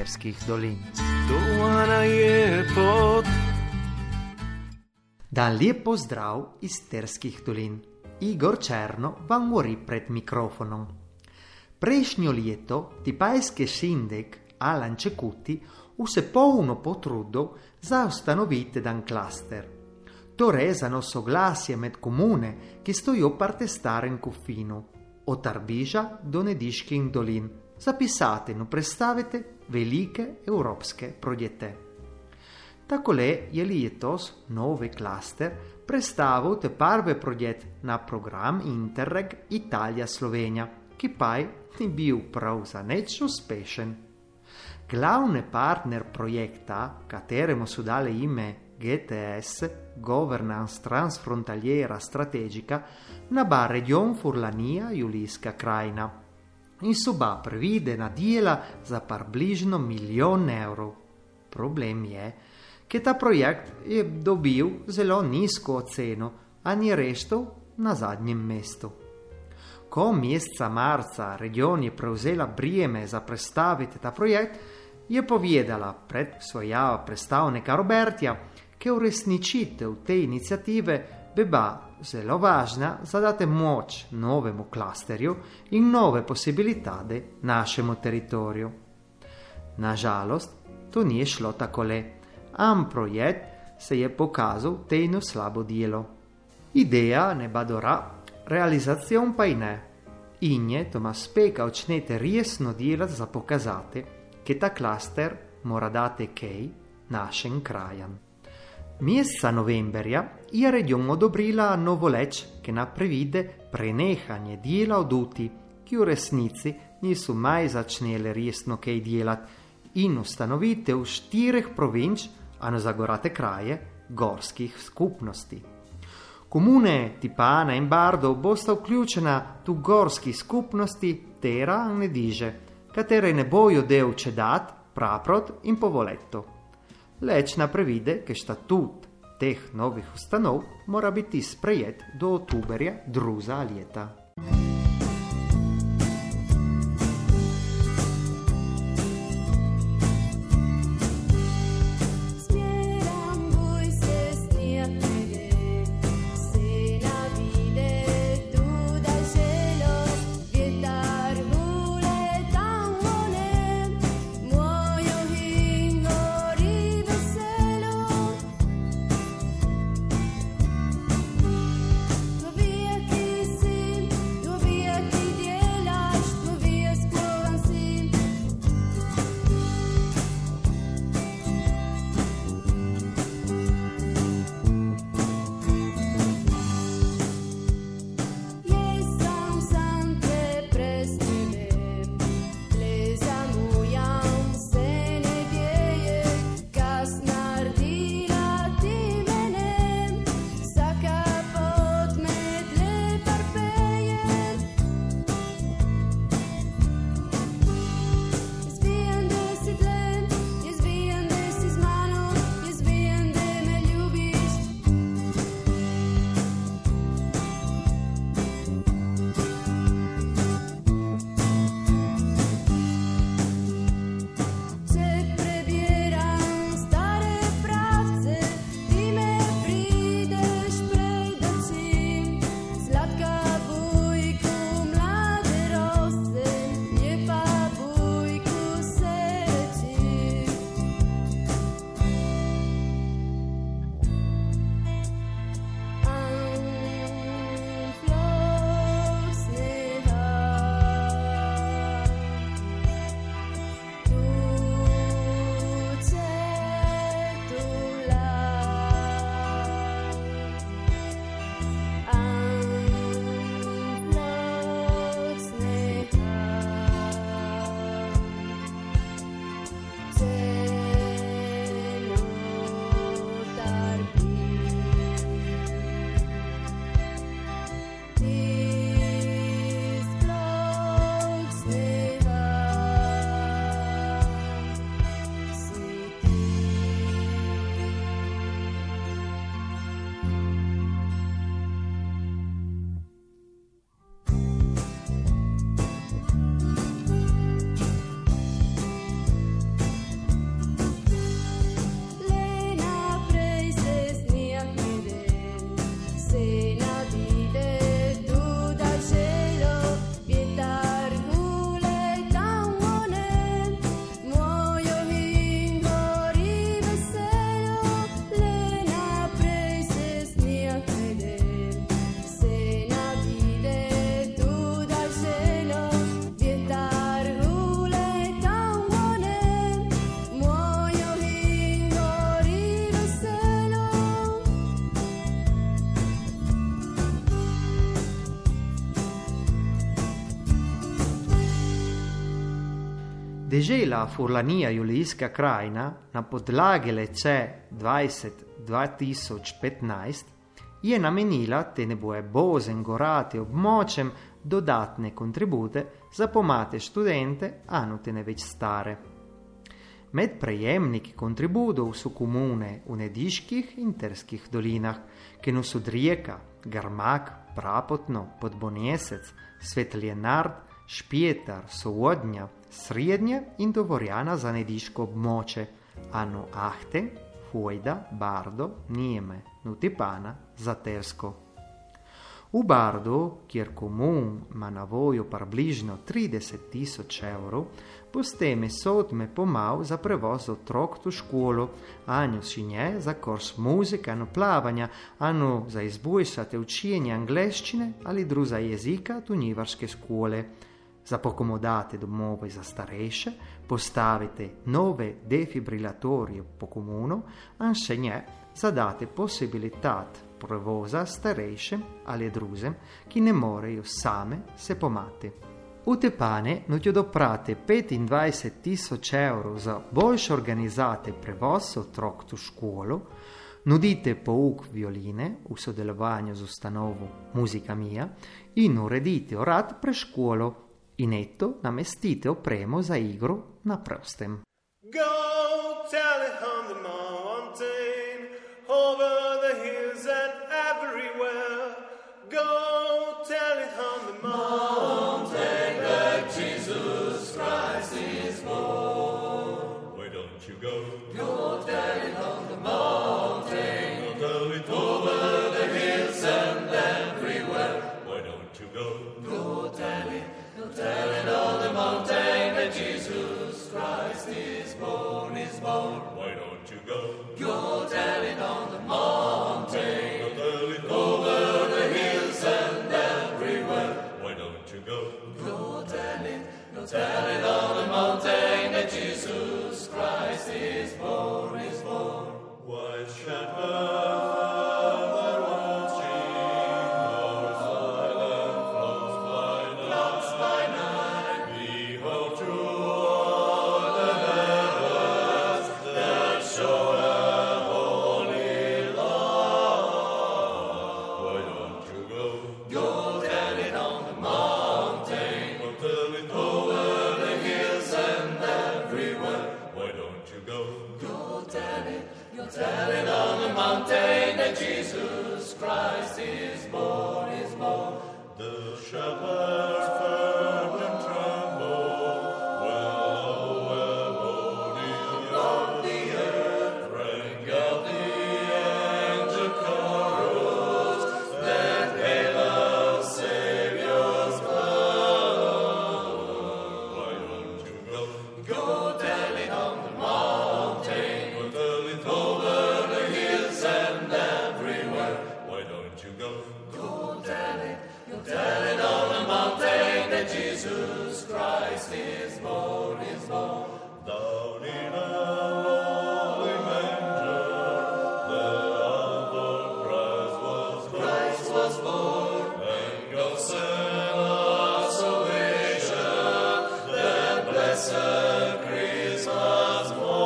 Terskih dolin. Doana je pot. Dan lijep pozdrav iz Terskih dolin. Igor Černo vam govori pred mikrofonom. Prejšnjo leto tipajski šindek Alan Čekuti se polno potrudil za ustanoviti dan klaster. To rezano soglasje med komune, ki stojo parte starem kufinu, od Tarbiža do Nediških dolin, zapisati in predstaviti velike evropske projekte. Takole je letos novi klaster predstavil te prve projekt na program Interreg Italija-Slovenija, ki pa ni bil prav za nič uspešen. Glavni partner projekta, kateremu so dali ime GTS, Governance Transfrontaliera Strategica, naba region Furlanija-Julijska krajina. In so ba previdena dela za približno 1 milijon evrov. Problem je, ker ta projekt je dobil zelo nizko oceno, a ni reštil na zadnjem mestu. Ko meseca marca region je prevzela breme za predstaviti ta projekt, je povedala pred svoja predstavnika Robertja, ker uresničitev te inicijative beba zelo važna za dati moč novemu klasterju in nove posibilitade našemu teritoriju. Nažalost, to ni šlo takole, am projekt se je pokazal tejno slabo delo. Ideja ne ba dobra, realizacion pa i ne. In je Tomas Speka očnete resno delati za pokazati, che ta klaster mora dati kej našim krajan. Meseca novemberja je region odobrila novoleč, ki naprevide prenehanje dela od uti, ki v resnici niso maj začnele resno kaj delati, in ustanovitev 4 provinč, a zagorate kraje, gorskih skupnosti. Komune Tipana in Bardo bosta vključena tu gorskih skupnosti Tera in Nediže, katere ne bojo del Čedat, Praprot in Povoletto. Leč naprevide, che statut teh novih ustanov mora biti sprejet do oktoberja druga leta. Deže la furlanija julijska krajina na podlagi lece 20-2015 je namenila te neboje bozen gorate območjem dodatne kontribute za pomate študente, anu te ne več stare. Med prejemniki kontributov su komune v Nediških in Terskih dolinah, ki no su Rijeka, Grmak, Prapotno, Podbonjesec, Svetljenard, Špjetar, Sovodnja, Srednje in Dovorjana za Nediško območje, anu Ahte, Fojda, Bardo, Nijeme, Nutipana za Tersko. U Bardu, kjer komun ma na voju približno 30.000 evrov, boste mesotme pomal za prevoz otrok tu školu, anju šinje za kurs muzike, anu plavanja, anu za izboljšate učenje angleščine ali druga jezika tu njivarske škole. Za pokomodate domove za starejše postavite nove defibrilatorije po komunu, anše nje zadate posibilitat prevoza starejšem ali drugim, ki ne morejo same se pomati. U Tepane nutjo doprate 25.000 evrov za boljše organizate prevoz otrok tu školu, nudite pouk violine v sodelovanju z ustanovo Muzika Mia in uredite urad pre školo in eto namestite opremo za igro na prostem. Go tell it on the mountain, over the hills and everywhere. Go tell it on the mountain that Jesus Christ is born. Why don't you go? Go tell it on the mountain. Go tell it over the hills and everywhere. Why don't you go? Go tell it. Tell it on the mountain that Jesus Christ is born, is born. Why don't you go? Go tell it on the mountain. Go tell it over the hills and everywhere. Why don't you go? Go tell it on the mountain that Jesus Christ is born, is born. Why shepherd? Tell it on the mountain that Jesus Christ is born, is born. The shepherds feared and trembled when on the earth rang out the angel chorus that hail our Savior's blood. Why don't you go? Go tell it on the mountain. Go tell it over the hills and everywhere. Why don't you go? Go tell it on the mountain that Jesus Christ is born, is born. Down in a lowly manger, there our Lord Christ was born. And God sent us salvation, that blessed Christmas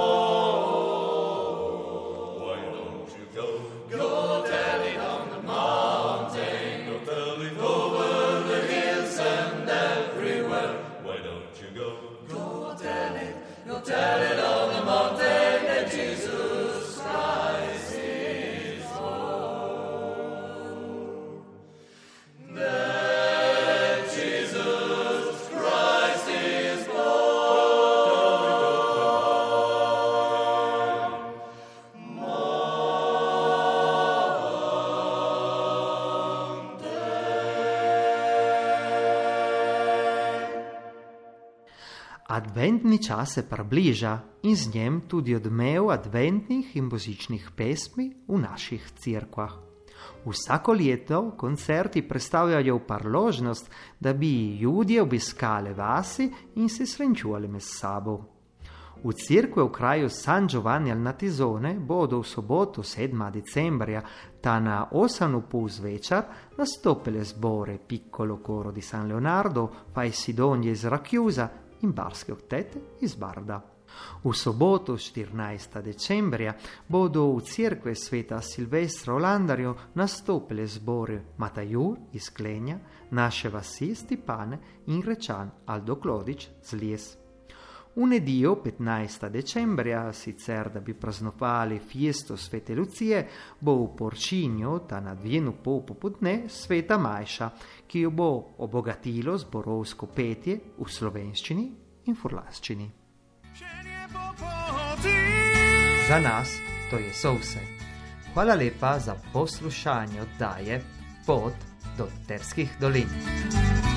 morn. Why don't you go? Go tell it on the mountain. Go tell it over the hills and everywhere. Why don't you go? Go tell it on the mountain that Jesus Christ is born. That Jesus Christ is born. Adventni čas se približa in z njem tudi odmev adventnih in božičnih pesmi v naših cerkvah. Vsako leto koncerti predstavljajo priložnost, da bi ljudje obiskali vasi in se srečevali med sabo. V cerkve v kraju San Giovanni al Natizone bodo v soboto 7. decembrja ta na 8:30 zvečer nastopile zbore Piccolo Coro di San Leonardo, Fai Sidonie iz Racchiusa in Barske Oktete iz Barda. U sobotu 14. decembria bodo u Crkve Sveta Silvestra Olandarju nastopili zbori Matajur iz Klenja, naše vasi Stipane in Rečan Aldo Klodič z Lies. V nedeljo 15. decembria, sicer da bi praznovali fiesto Svete Lucije, bo v Porčinju ta na 2:30 popoldne Sveta Majša, ki jo bo obogatilo zborovsko petje v slovenščini in furlanščini. Za nas to je vse. Hvala lepa za poslušanje oddaje Pot do Terskih dolin.